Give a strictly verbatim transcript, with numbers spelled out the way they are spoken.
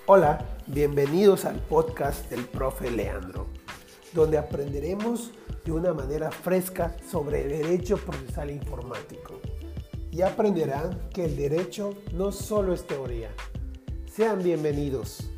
Hola, bienvenidos al podcast del profe Leandro, donde aprenderemos de una manera fresca sobre derecho procesal informático. Y aprenderán que el derecho no solo es teoría. Sean bienvenidos.